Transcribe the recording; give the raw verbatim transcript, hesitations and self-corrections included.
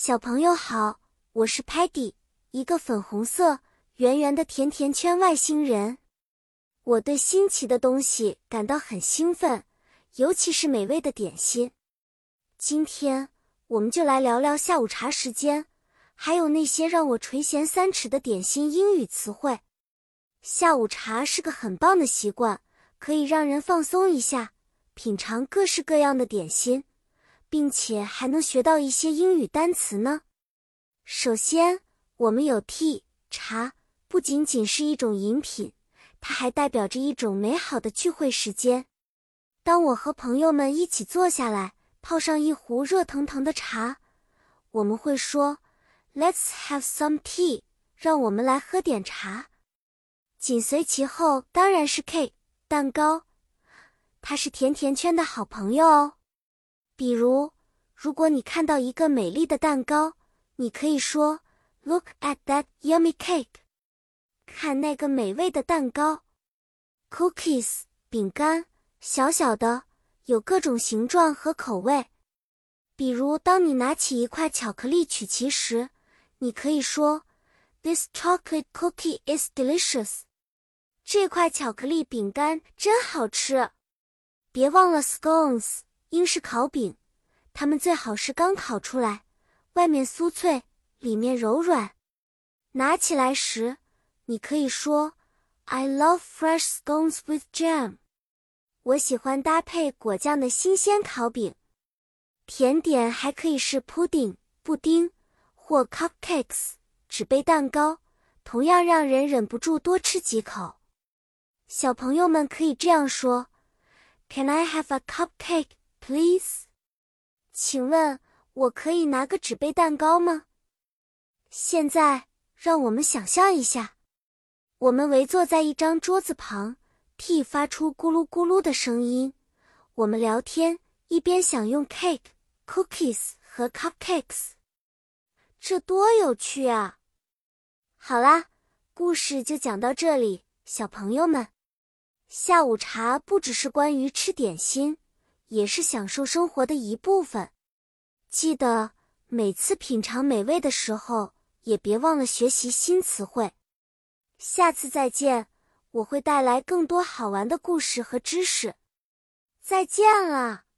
小朋友好，我是 Patty， 一个粉红色、圆圆的甜甜圈外星人。我对新奇的东西感到很兴奋，尤其是美味的点心。今天，我们就来聊聊下午茶时间，还有那些让我垂涎三尺的点心英语词汇。下午茶是个很棒的习惯，可以让人放松一下，品尝各式各样的点心，并且还能学到一些英语单词呢。首先，我们有 tea 茶，不仅仅是一种饮品，它还代表着一种美好的聚会时间。当我和朋友们一起坐下来，泡上一壶热腾腾的茶，我们会说 Let's have some tea， 让我们来喝点茶。紧随其后当然是 cake 蛋糕，它是甜甜圈的好朋友哦。比如，如果你看到一个美丽的蛋糕，你可以说 Look at that yummy cake， 看那个美味的蛋糕。Cookies 饼干，小小的，有各种形状和口味。比如当你拿起一块巧克力曲奇时，你可以说 This chocolate cookie is delicious， 这块巧克力饼干真好吃。别忘了 scones， 英式烤饼，它们最好是刚烤出来，外面酥脆，里面柔软。拿起来时，你可以说 I love fresh scones with jam， 我喜欢搭配果酱的新鲜烤饼。甜点还可以是 pudding 布丁或 cupcakes 纸杯蛋糕，同样让人忍不住多吃几口。小朋友们可以这样说 Can I have a cupcake, please？ 请问我可以拿个纸杯蛋糕吗？现在让我们想象一下，我们围坐在一张桌子旁， tea 发出咕噜咕噜的声音，我们聊天，一边享用 cake、cookies 和 cupcakes， 这多有趣啊！好啦，故事就讲到这里，小朋友们。下午茶不只是关于吃点心，也是享受生活的一部分。记得每次品尝美味的时候，也别忘了学习新词汇。下次再见，我会带来更多好玩的故事和知识。再见了。